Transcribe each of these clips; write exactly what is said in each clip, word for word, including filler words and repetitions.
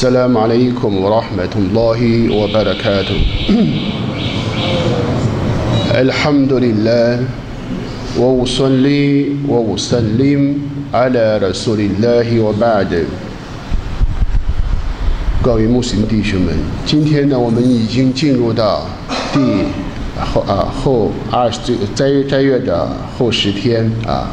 السلام عليكم ورحمة الله وبركاته الحمد لله وأصلي وأسلم على رسول الله وبعد。各位穆斯林弟兄们，今天呢，我们已经进入到第后啊后二十斋斋月的后十天啊。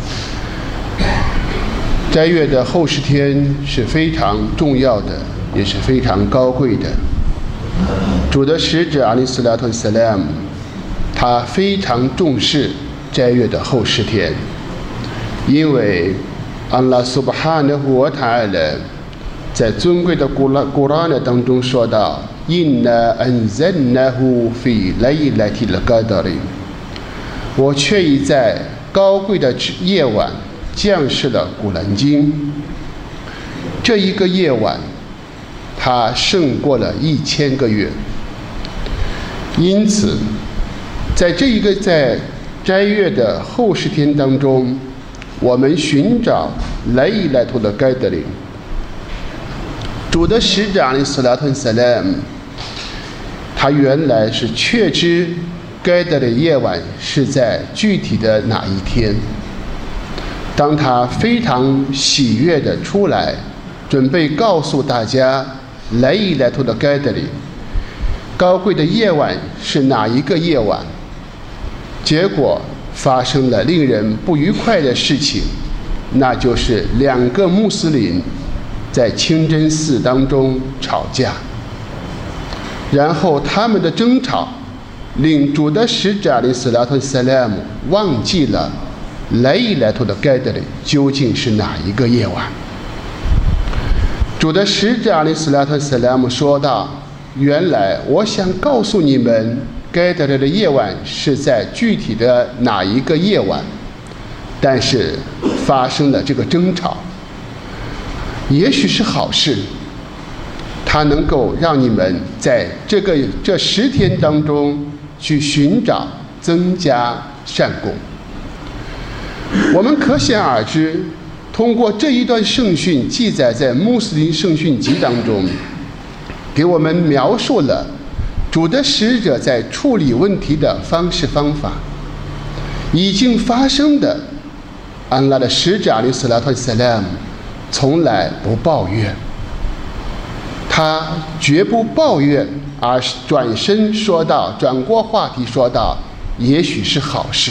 斋月的后十天是非常重要的，也是非常高贵的。主的使者阿里斯拉特萨拉姆，他非常重视斋月的后十天，因为安拉苏巴哈纳胡瓦塔尔在尊贵的古拉古拉呢当中说到 Inna anzalnahu fi laylatil qadr， 我却已在高贵的夜晚降世了古兰经。这一个夜晚它胜过了一千个月，因此在这一个在斋月的后十天当中，我们寻找莱伊莱图的盖德林。主的使者阿里斯拉特萨拉姆，他原来是确知该得的夜晚是在具体的哪一天。当他非常喜悦地出来，准备告诉大家来伊莱图的该得里高贵的夜晚是哪一个夜晚，结果发生了令人不愉快的事情，那就是两个穆斯林在清真寺当中吵架，然后他们的争吵令主的使者阿里斯拉特萨拉姆忘记了来伊莱图的盖德里究竟是哪一个夜晚。主的使者阿里斯拉特萨拉姆说道，原来我想告诉你们盖德里的夜晚是在具体的哪一个夜晚，但是发生了这个争吵，也许是好事，它能够让你们在这个这十天当中去寻找增加善功。我们可想而知，通过这一段圣训记载在穆斯林圣训集当中，给我们描述了主的使者在处理问题的方式方法。已经发生的，安拉的使者阿里斯拉特萨拉姆从来不抱怨，他绝不抱怨，而是转身说道，转过话题说道，也许是好事。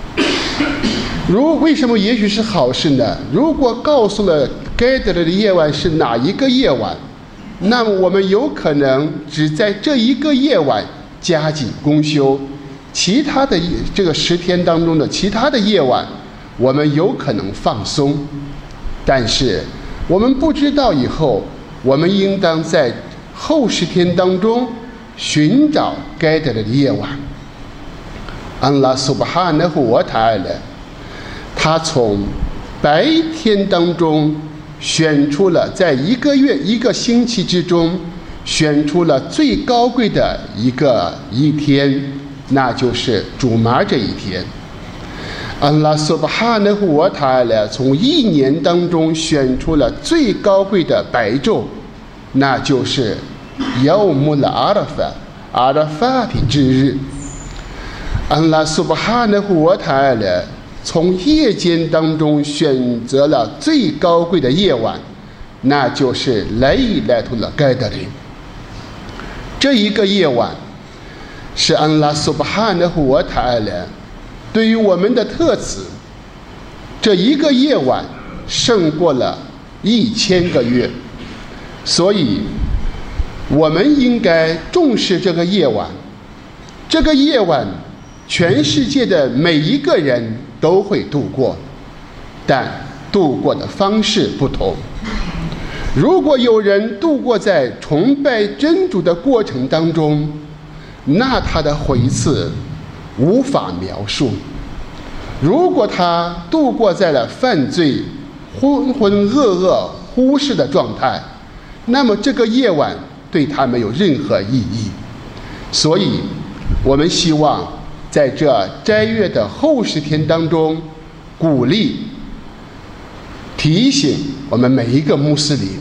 如为什么也许是好事呢？如果告诉了该得的夜晚是哪一个夜晚，那么我们有可能只在这一个夜晚加紧功修，其他的这个十天当中的其他的夜晚我们有可能放松。但是我们不知道以后，我们应当在后十天当中寻找该得的夜晚。安拉苏巴哈纳胡瓦塔尔他从白天当中选出了，在一个月一个星期之中选出了最高贵的一个一天，那就是主麻这一天。安拉苏巴哈纳胡瓦塔尔从一年当中选出了最高贵的白昼，那就是亚穆拉阿拉法阿拉法提之日。安拉苏巴哈纳胡瓦塔尔从夜间当中选择了最高贵的夜晚，那就是莱伊莱图勒盖德林。这一个夜晚是安拉苏巴哈纳胡瓦塔尔对于我们的特赐，这一个夜晚胜过了一千个月，所以我们应该重视这个夜晚。这个夜晚全世界的每一个人都会度过，但度过的方式不同。如果有人度过在崇拜真主的过程当中，那他的回赐无法描述。如果他度过在了犯罪、浑浑噩噩、忽视的状态，那么这个夜晚对他没有任何意义。所以我们希望在这斋月的后十天当中，鼓励提醒我们每一个穆斯林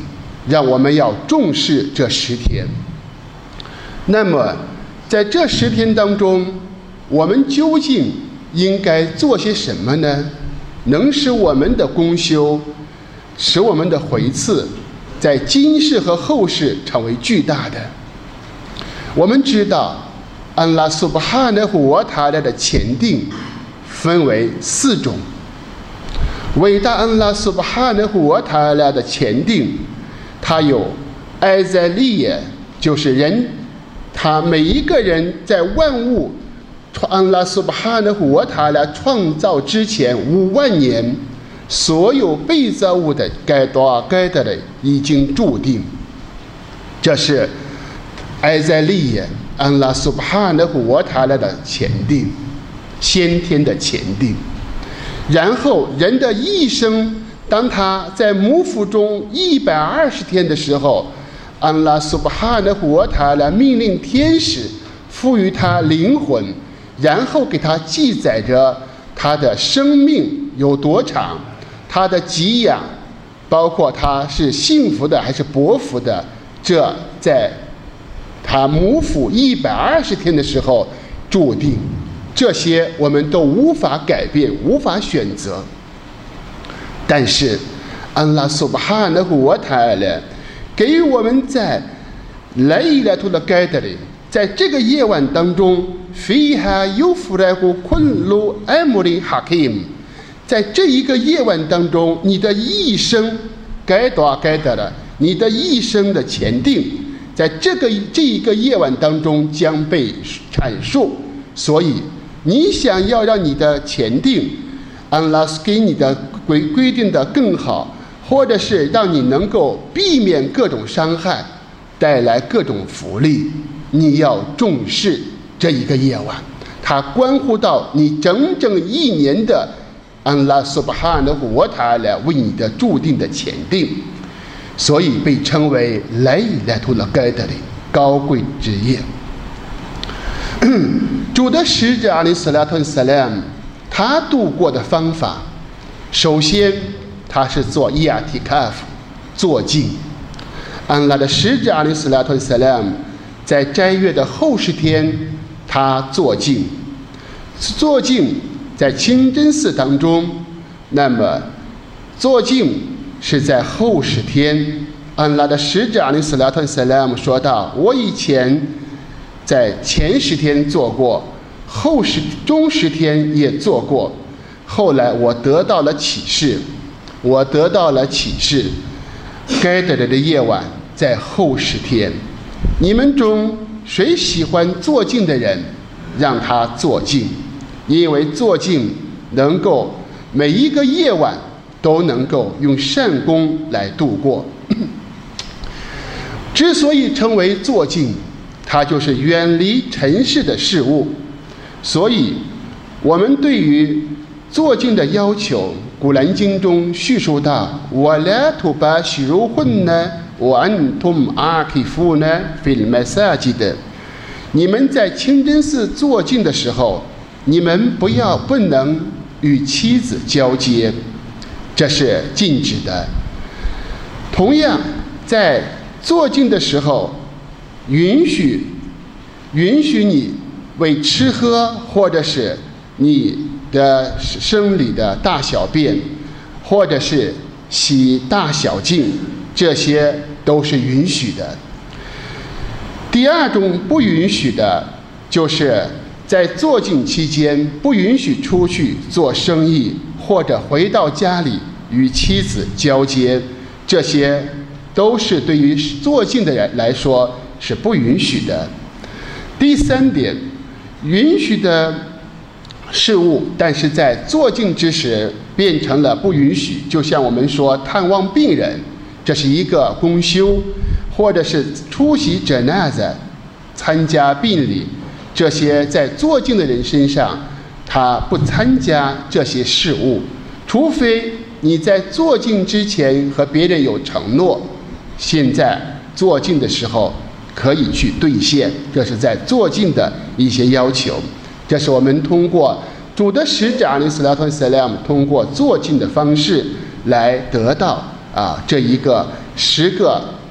让我们要重视这十天。那么在这十天当中，我们究竟应该做些什么呢？能使我们的功修，使我们的回赐在今世和后世成为巨大的。我们知道安拉苏巴哈纳胡瓦塔拉的前定分为四种。伟大安拉苏巴哈纳胡瓦塔拉的前定，它有埃在利耶，就是人，他每一个人在万物安拉苏巴哈纳胡瓦塔拉创造之前五万年，所有被造物的该多该得的已经注定，这是埃在利耶安拉苏巴哈纳胡瓦塔拉的前定，先天的前定。然后人的一生，当他在母腹中一百二十天的时候，安拉苏巴哈纳胡瓦塔拉命令天使赋予他灵魂，然后给他记载着他的生命有多长，他的给养，包括他是幸福的还是薄福的，这在他母腹一百二十天的时候注定。这些我们都无法改变，无法选择。但是安拉苏巴哈纳胡瓦塔拉给予我们在莱伊拉图的盖德里，在这个夜晚当中，菲哈尤弗莱古昆鲁艾姆林哈克姆，在这一个夜晚当中，你的一生该多该得了，你的一生的前定，在这个这一个夜晚当中将被阐述。所以你想要让你的前定安拉给你的规规定的更好，或者是让你能够避免各种伤害，带来各种福利，你要重视这一个夜晚，它关乎到你整整一年的安拉苏巴哈纳胡瓦塔拉为你的注定的前定，所以被称为莱伊拉图勒盖德里高贵之夜。主的使者阿里斯拉特萨拉姆，他度过的方法，首先他是做伊亚提卡夫，坐静。安拉的使者阿里斯拉特萨拉姆在斋月的后十天，他坐静。坐静在清真寺当中，那么坐静是在后十天。安拉的使者阿里斯拉特萨拉姆说道：我以前在前十天做过，后十中十天也做过，后来我得到了启示，我得到了启示，该得的夜晚在后十天。你们中谁喜欢坐静的人，让他坐静，因为坐静能够每一个夜晚都能够用善功来度过。之所以称为坐静，它就是远离尘世的事物。所以我们对于坐静的要求，古兰经中叙述到وَلَا تُبَاشِرُوهُنَّ وَأَنْتُمْ عَاكِفُونَ فِي الْمَسَاجِدِ，你们在清真寺坐静的时候，你们不要不能与妻子交接，这是禁止的。同样在坐静的时候，允许允许你为吃喝，或者是你的生理的大小便，或者是洗大小净，这些都是允许的。第二种不允许的，就是在坐静期间不允许出去做生意，或者回到家里与妻子交接，这些都是对于坐静的人来说是不允许的。第三点，允许的事物，但是在坐静之时变成了不允许，就像我们说探望病人，这是一个公休，或者是出席者纳子，参加殡礼，这些在坐静的人身上他不参加这些事物，除非你在坐静之前和别人有承诺，现在坐静的时候可以去兑现，这是在坐静的一些要求。这是我们通过主的使者阿里斯拉特萨拉姆通过坐静的方式来得到啊这一个十个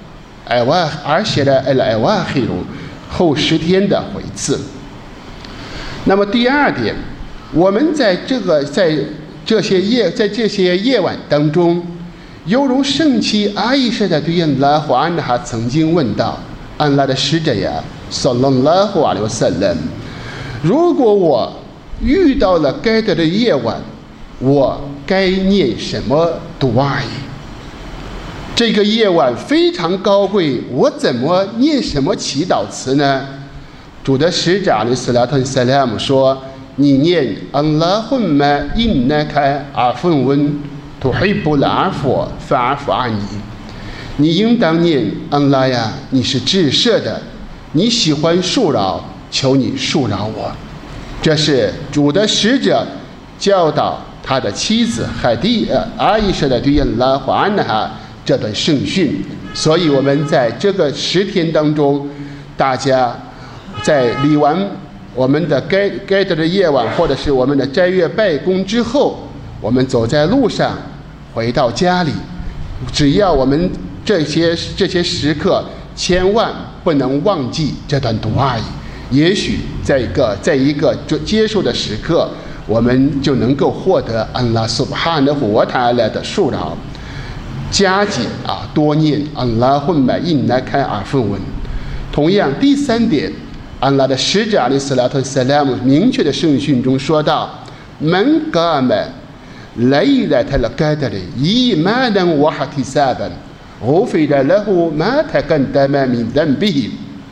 艾瓦而写了艾艾瓦黑鲁后十天的回赐。那么第二点，我们在这个在这些夜在这些夜晚当中，犹如圣妻阿伊莎的对安拉和安哈曾经问道：安拉的使者呀，萨拉拉胡阿里瓦萨勒，如果我遇到了该得的夜晚，我该念什么读阿伊？这个夜晚非常高贵，我怎么念什么祈祷词呢？主的使者阿里斯拉特萨拉姆说：你念安拉混嘛因那开阿芬温图黑布拉阿佛法阿佛阿尼，你应当念安拉呀，你是至赦的，你喜欢恕饶，求你恕饶我。这是主的使者教导他的妻子海蒂呃阿伊莎的对安拉和安哈这段圣训。所以我们在这个十天当中，大家在礼完我们的该该得的夜晚，或者是我们的斋月拜功之后，我们走在路上回到家里，只要我们这些这些时刻千万不能忘记这段读阿姨，也许在一个在一个接受的时刻，我们就能够获得安拉苏巴哈纳胡瓦塔拉的恕饶。加紧啊，多念安拉混买印来开阿芬文。同样，第三点，安拉的使者阿里斯拉特萨拉姆明确的圣训中说道：门嘎们ليلة القدر إيمانا واحتسابا غفر له ما تقدم من ذنبه。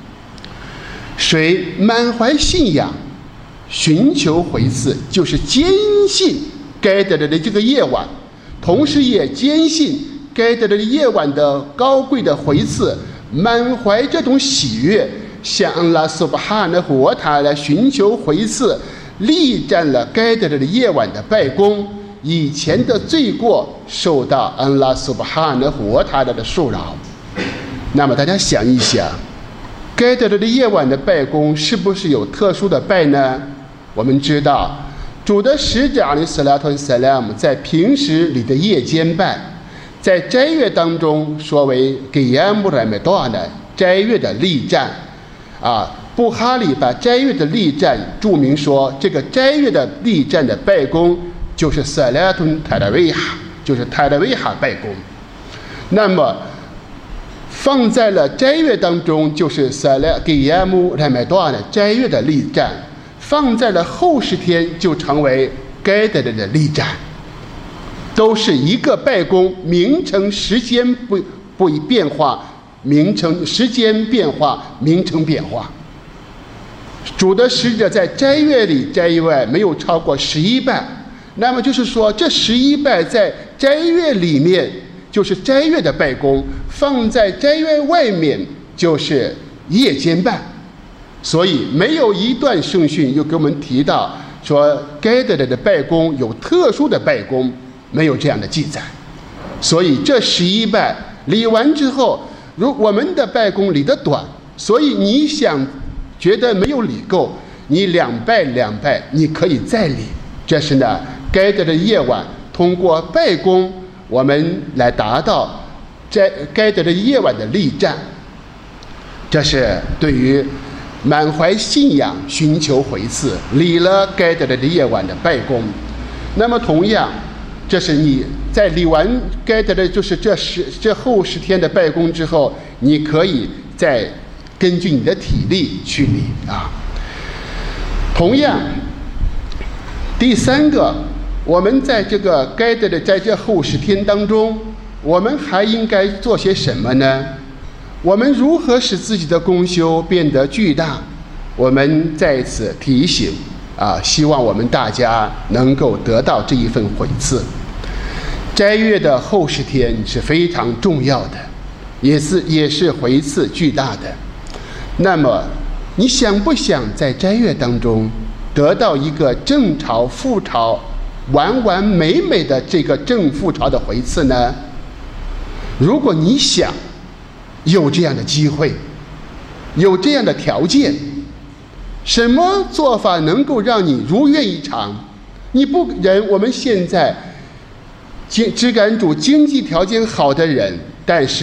谁满怀信仰，寻求回赐，就是坚信该得的这个夜晚，同时也坚信该得的夜晚的高贵的回赐，满怀这种喜悦，向安拉苏巴哈纳胡瓦塔来寻求回赐，力战了该得的夜晚的拜功。以前的罪过受到安拉苏巴哈纳胡瓦塔拉的恕饶。那么大家想一想，该得的夜晚的拜功是不是有特殊的拜呢？我们知道，主的使者阿里斯拉特萨拉姆在平时里的夜间拜，在斋月当中说为给亚穆莱梅多的斋月的力战啊。布哈里把斋月的力战注明说，这个斋月的力战的拜功就是萨拉顿泰拉维哈，就是泰拉维哈拜功。那么放在了斋月当中，就是萨拉给亚穆莱麦多的斋月的力战；放在了后十天，就成为该得的力战。都是一个拜功，名称时间不不变化，名称时间变化，名称变化。主的使者在斋月里斋月外没有超过十一拜。那么就是说，这十一拜在斋月里面就是斋月的拜功，放在斋月外面就是夜间拜。所以没有一段圣训又给我们提到说该得的拜功有特殊的拜功，没有这样的记载。所以这十一拜礼完之后，如我们的拜功礼得短，所以你想觉得没有礼够，你两拜两拜你可以再礼。这是呢该得的夜晚，通过拜功，我们来达到在该得的夜晚的力战。这是对于满怀信仰、寻求回赐、礼了该得的夜晚的拜功。那么同样，这是你在礼完该得的，就是这十这后十天的拜功之后，你可以再根据你的体力去礼啊。同样，第三个，我们在这个该得的在这后十天当中，我们还应该做些什么呢？我们如何使自己的功修变得巨大？我们在此提醒啊，希望我们大家能够得到这一份回赐。斋月的后十天是非常重要的，也是也是回赐巨大的。那么，你想不想在斋月当中得到一个正朝副朝完完美美的这个正副朝的回赐呢？如果你想有这样的机会，有这样的条件，什么做法能够让你如愿以偿？你不人我们现在经只感主经济条件好的人，但是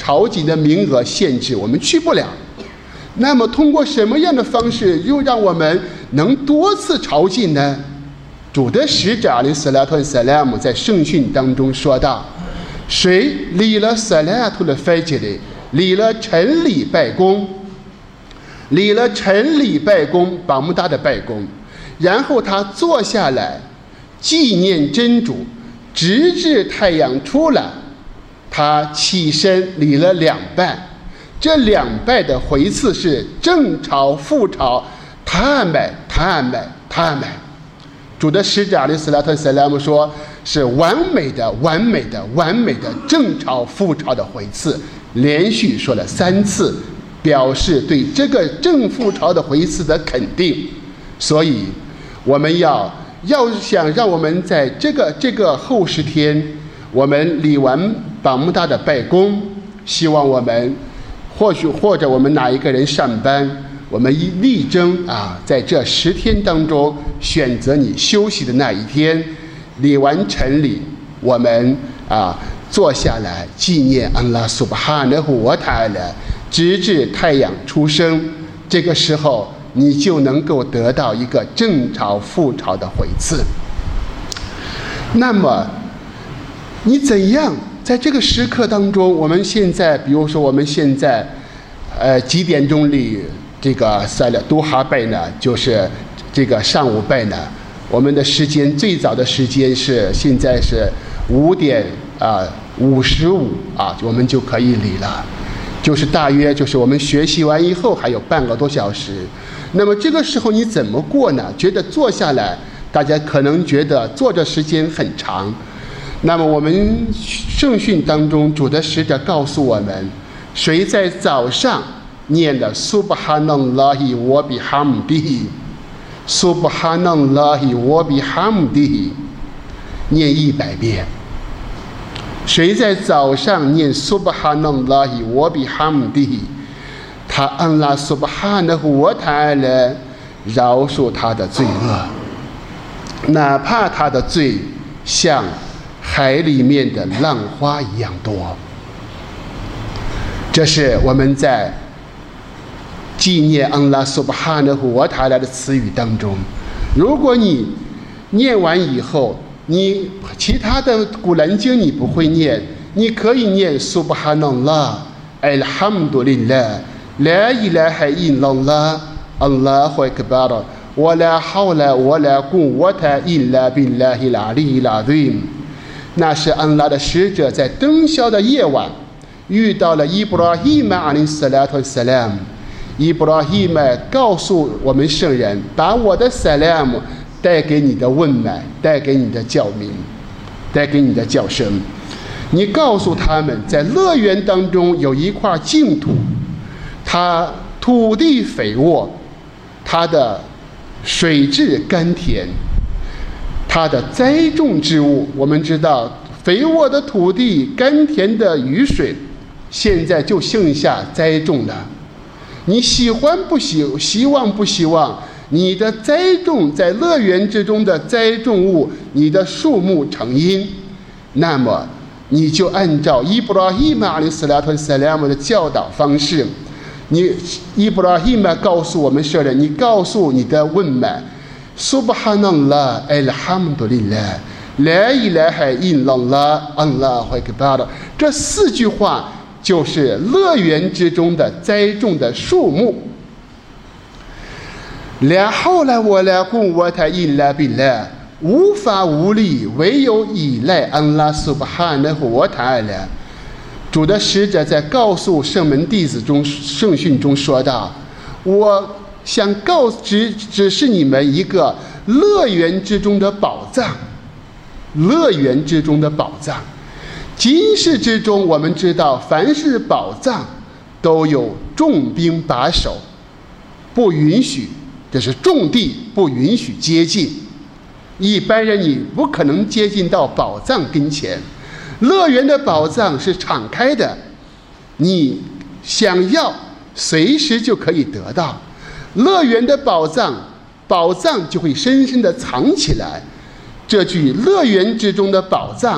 朝觐的名额限制，我们去不了。那么通过什么样的方式又让我们能多次朝觐呢？主的使者阿里斯拉特萨拉姆在圣训当中说道，谁立了萨拉图的费吉里，立了晨礼拜功，立了晨礼拜功，百慕大的拜功，然后他坐下来纪念真主，直至太阳出来，他起身礼了两拜。这两拜的回次是正朝覆朝，他买他买他买。主的使者阿里斯拉特萨拉姆说，是完美的完美的完美的正朝覆朝的回次，连续说了三次，表示对这个正覆朝的回次的肯定。所以我们要要想让我们在这个这个后十天，我们礼完百慕大的拜功，希望我们或许或者我们哪一个人上班，我们一力争啊，在这十天当中选择你休息的那一天，礼完晨礼，我们啊坐下来纪念安拉苏巴哈纳胡瓦塔拉，直至太阳出生。这个时候你就能够得到一个正朝覆朝的回次。那么你怎样在这个时刻当中，我们现在比如说我们现在呃几点钟里这个赛了都哈拜呢，就是这个上午拜呢，我们的时间最早的时间是现在是五点啊五十五啊，我们就可以礼了，就是大约就是我们学习完以后还有半个多小时。那么这个时候你怎么过呢？觉得坐下来，大家可能觉得坐着时间很长。那么我们圣训当中，主的使者告诉我们，谁在早上念了苏巴哈纳拉希沃比哈姆迪，苏巴哈纳拉希沃比哈姆迪，念一百遍。谁在早上念苏巴哈纳拉希沃比哈姆迪，他安拉苏巴哈纳胡瓦塔拉饶恕他的罪恶，哪怕他的罪像海里面的浪花一样多。这是我们在纪念安拉苏巴哈纳胡瓦塔拉的词语当中，如果你念完以后，你其他的古兰经你不会念，你可以念苏巴哈纳拉艾尔哈姆杜林拉لا إله إلا الله الله أكبر ولا حول ولا قوة إلا بالله العلي العظيم。 那是安拉的使者在灯宵的夜晚遇到了伊布拉希玛阿里斯拉特萨拉姆，伊布拉希玛告诉我们圣人，把我的萨拉姆带给你的问满，带给你的教民，带给你的叫声。你告诉他们，在乐园当中有一块净土，它土地肥沃，它的水质甘甜，它的栽种之物，我们知道肥沃的土地，甘甜的雨水，现在就剩下栽种了。你喜欢不喜希望不希望你的栽种在乐园之中的栽种物，你的树木成荫，那么你就按照伊布拉希玛阿里斯拉特萨拉姆的教导方式，你伊布拉希玛告诉我们圣人，你告诉你的问满，苏巴哈纳拉艾尔哈姆杜林拉来伊来海因朗拉安拉怀克巴的，这四句话就是乐园之中的栽种的树木。la hawla wala quwwata illa billah， 无法无力，唯有依赖安拉苏巴哈纳胡瓦塔拉。主的使者在告诉圣门弟子中圣训中说道，我想告知只是你们一个乐园之中的宝藏，乐园之中的宝藏。今世之中我们知道，凡是宝藏都有重兵把守，不允许，这是重地，不允许接近，一般人你不可能接近到宝藏跟前。乐园的宝藏是敞开的，你想要随时就可以得到。乐园的宝藏，宝藏就会深深地藏起来。这句乐园之中的宝藏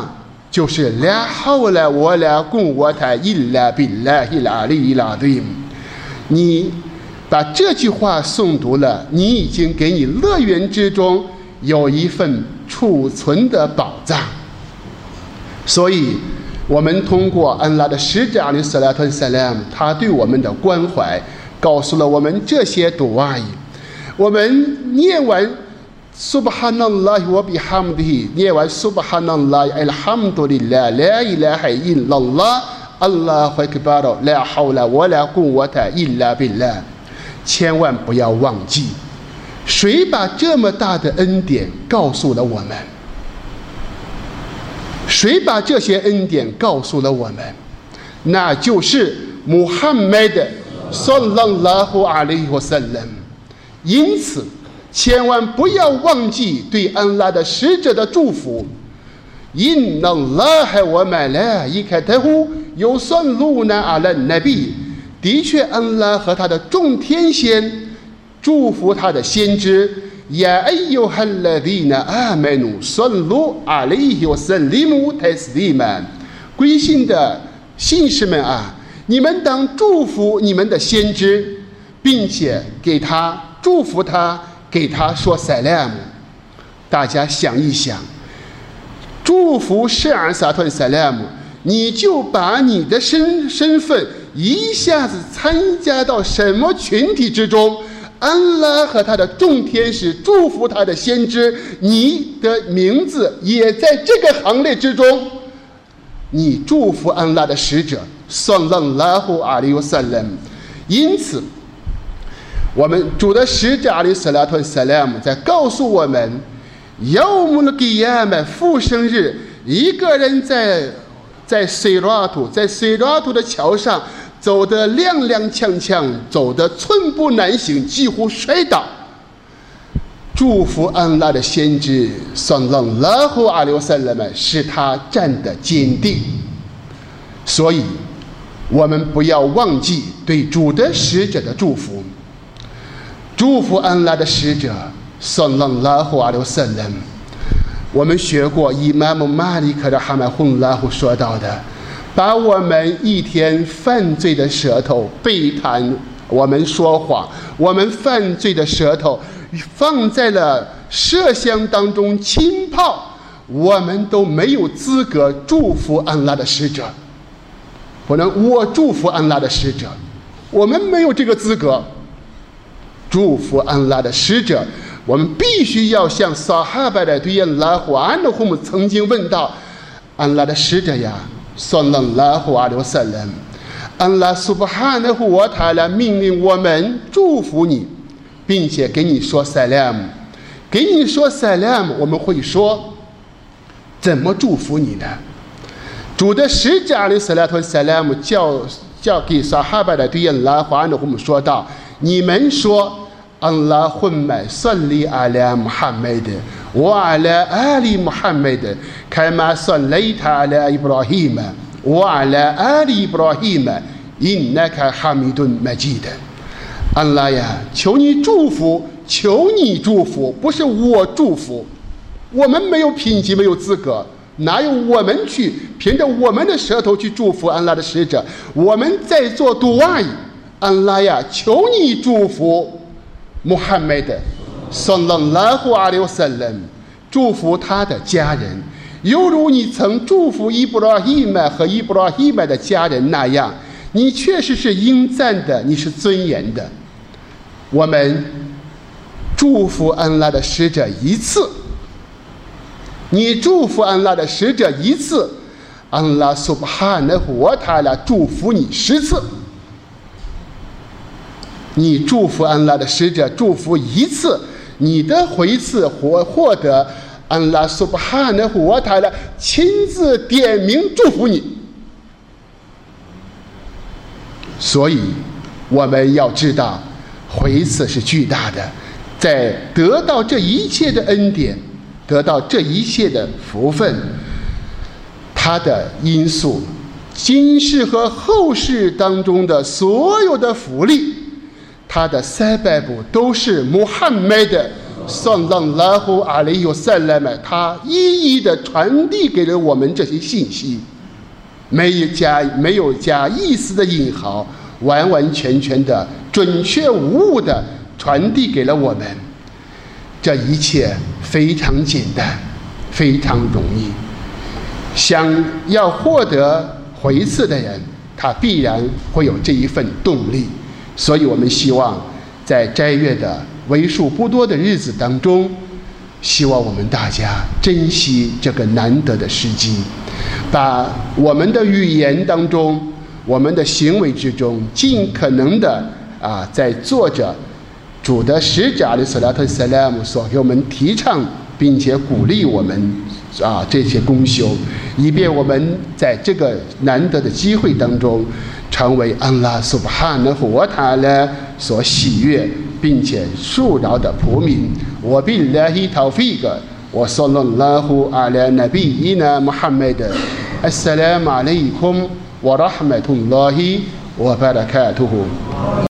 就是啦好啦我啦贡我塔伊拉比拉伊拉里伊拉对。你把这句话诵读了，你已经给你乐园之中有一份储存的宝藏。所以我们通过安拉的使者阿里斯拉特萨拉姆他对我们的关怀，告诉了我们这些读阿姨。我们念完 Subhanallah wa bihamdihi， 念完 Subhanallah alhamdulillah la ilaha illallah Allahu akbar la hawla wa la quwwata illa billah， 千万不要忘记，谁把这么大的恩典告诉了我们？谁把这些恩典告诉了我们？那就是穆罕默德صلى الله عليه وسلم。因此，千万不要忘记对安拉的使者的祝福。إن الله وملائكته يصلون على النبي。的确，安拉和他的众天仙祝福他的先知。يا أيها الذين آمنوا صلوا عليه وسلموا تسليما。归信的信士们啊，你们当祝福你们的先知，并且给他祝福他，给他说 salam。 大家想一想，祝福圣安萨顿 salam， 你就把你的身身份一下子参加到什么群体之中？安拉和他的众天使祝福他的先知，你的名字也在这个行列之中。你祝福安拉的使者sallallahu alaihi wasallam。 因此我们主的使者阿里斯拉特萨拉姆在告诉我们，yawmul qiyamah复生日，一个人在在塞拉图在塞拉图的桥上走得踉踉跄跄，走得寸步难行，几乎摔倒。祝福安拉的先知sallallahu alaihi wasallam使他站得坚定。所以我们不要忘记对主的使者的祝福。祝福安拉的使者 sallallahu alaihi wasallam。 我们学过伊玛目马里克的哈麦洪拉胡说到的，把我们一天犯罪的舌头背谈，我们说谎，我们犯罪的舌头放在了麝香当中浸泡，我们都没有资格祝福安拉的使者。不能我祝福安拉的使者，我们没有这个资格祝福安拉的使者。我们必须要像撒哈巴的对安拉和安的胡姆曾经问到，安拉的使者呀sallallahu alaihi wasallam， 安拉苏巴哈纳胡瓦塔拉命令我们祝福你，并且给你说 salam， 给你说 salam， 我们会说怎么祝福你呢？主的使者阿里斯拉特萨拉姆叫叫给撒哈巴的对安拉和安的胡姆说道，你们说اللهم صل على محمد وعلى آل محمد كما صليت على إبراهيم وعلى آل إبراهيم إنك حميد مجيد。 安拉呀，求你祝福，求你祝福，不是我祝福，我们没有品级，没有资格，哪有我们去凭着我们的舌头去祝福安拉的使者？我们在做杜阿，安拉呀，求你祝福穆罕默德 sallallahu alaihi wasallam， 祝福他的家人，犹如你曾祝福伊布拉希曼和伊布拉希曼的家人那样，你确实是应赞的，你是尊严的。我们祝福安拉的使者一次，你祝福安拉的使者一次，安拉苏巴哈纳胡瓦塔拉祝福你十次。你祝福安拉的使者祝福一次，你的回赐或获得安拉苏巴哈纳胡瓦塔拉亲自点名祝福你。所以我们要知道回赐是巨大的，在得到这一切的恩典，得到这一切的福分，它的因素，今世和后世当中的所有的福利，他的塞拜布都是穆罕默德圣让拉胡阿里有塞勒麦，他一一的传递给了我们这些信息，没有加没有加一丝的引毫，完完全全的准确无误的传递给了我们。这一切非常简单，非常容易。想要获得回赐的人，他必然会有这一份动力。所以我们希望在斋月的为数不多的日子当中，希望我们大家珍惜这个难得的时机，把我们的语言当中，我们的行为之中，尽可能的啊，在做着主的使者阿里斯拉特塞拉姆所给我们提倡并且鼓励我们啊这些功修，以便我们在这个难得的机会当中，成为安拉苏巴哈纳胡瓦塔拉所喜悦并且恕饶的仆民。我比拉希陶菲格，我صلى الله على نبينا محمد السلام عليكم ورحمة الله وبركاته.